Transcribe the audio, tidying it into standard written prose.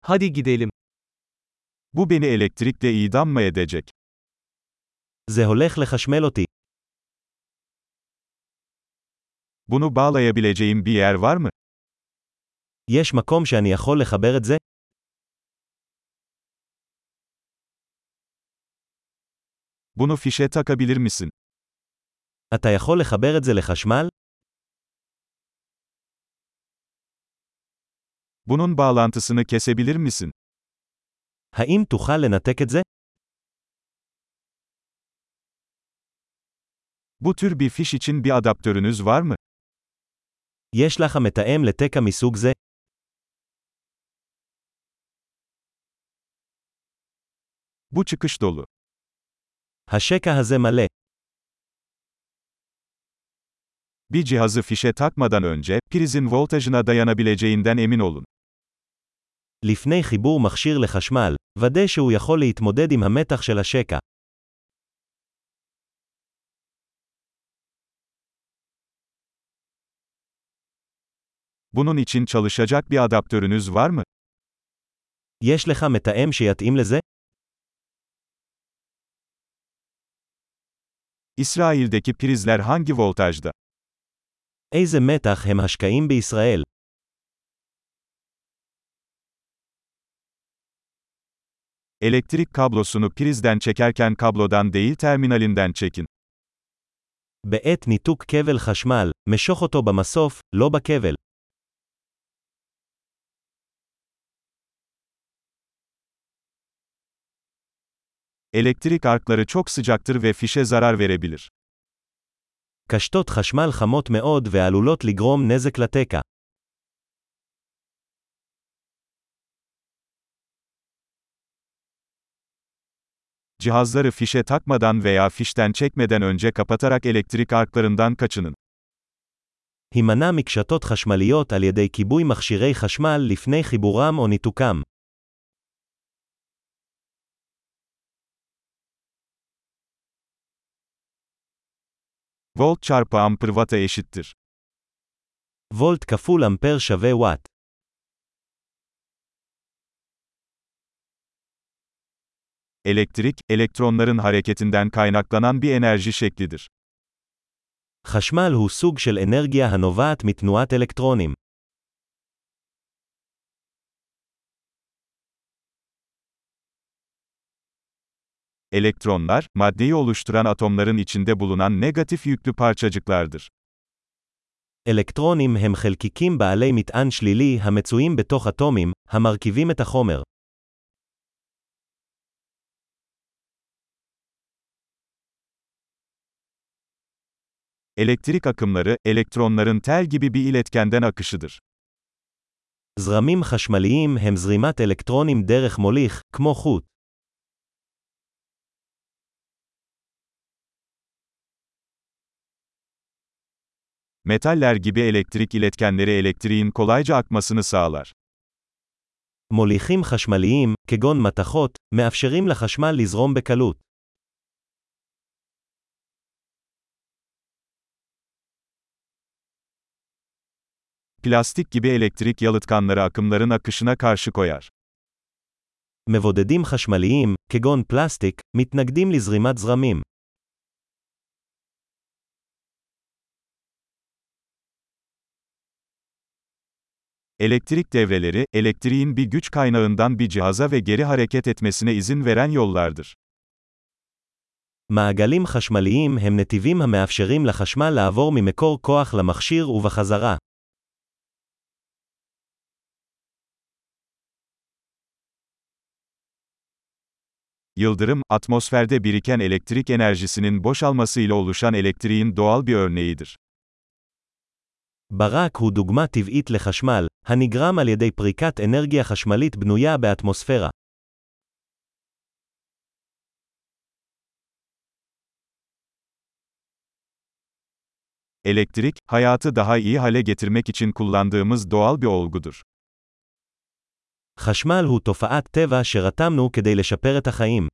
Hadi gidelim. Bu beni elektrikle idam mı edecek? זה הולך לחשמל אותי. Bunu bağlayabileceğim bir yer var mı? יש מקום שאני יכול לחבר את זה? Bunu fişe takabilir misin? אתה יכול לחבר את זה לחשמל? Bunun bağlantısını kesebilir misin? האם תוכל לנתק את זה? Bu tür bir fiş için bir adaptörünüz var mı? יש לך מתאם לתקע מסוג זה? Bu çıkış dolu. השקע הזה מלא. Bir cihazı fişe takmadan önce, prizin voltajına dayanabileceğinden emin olun. לפני חיבור מכשיר לחשמל, ודא שהוא יכול להתמודד עם המתח של השקע. Bunun için çalışacak bir adaptörünüz var mı? יש לך מתאם שיתאים לזה? İsrail'deki prizler hangi voltajda? איזה מתח הם השקעים בישראל? Elektrik kablosunu prizden çekerken kablodan değil terminalinden çekin. בעת ניתוק כבל חשמל, משוך אותו במסוף, לא בכבל. Elektrik arkları çok sıcaktır ve fişe zarar verebilir. קשתות חשמל חמות מאוד ועלולות לגרום נזק לתקע. Cihazları fişe takmadan veya fişten çekmeden önce kapatarak elektrik arklarından kaçının. הימנע מקשתות חשמליות על ידי כיבוי מכשירי חשמל לפני חיבורם או ניתוקם. Volt çarpı amper watt'a eşittir. וולט כפול אמפר שווה וואט. Elektrik, elektronların hareketinden kaynaklanan bir enerji şeklidir. חשמל הוא סוג של אנרגיה הנובעת מתנועת אלקטרונים. Elektronlar, maddeyi oluşturan atomların içinde bulunan negatif yüklü parçacıklardır. אלקטרונים הם חלקיקים בעלי מטען שלילי המצויים בתוך אטומים, המרכיבים את החומר. Elektrik akımları, elektronların tel gibi bir iletkenden akışıdır. זרמים חשמליים הם זרימת אלקטרונים דרך מוליך, כמו חוט. Metaller gibi elektrik iletkenleri elektriğin kolayca akmasını sağlar. מוליכים חשמליים, כגון מתכות, מאפשרים לחשמל לזרום בקלות. Plastik gibi elektrik yalıtkanları akımların akışına karşı koyar. מבודדים חשמליים, כגון פלסטיק, מתנגדים לזרימת זרמים. Elektrik devreleri, elektriğin bir güç kaynağından bir cihaza ve geri hareket etmesine izin veren yollardır. מעגלים חשמליים הם נתיבים המאפשרים לחשמל לעבור ממקור כוח למכשיר ובחזרה. Yıldırım, atmosferde biriken elektrik enerjisinin boşalmasıyla oluşan elektriğin doğal bir örneğidir. ברק הוא דוגמה טבעית לחשמל, הנגרם על ידי פריקת אנרגיה חשמלית בנויה באטמוספירה. Elektrik, hayatı daha iyi hale getirmek için kullandığımız doğal bir olgudur. חשמל הוא תופעת טבע שרתמנו כדי לשפר את החיים.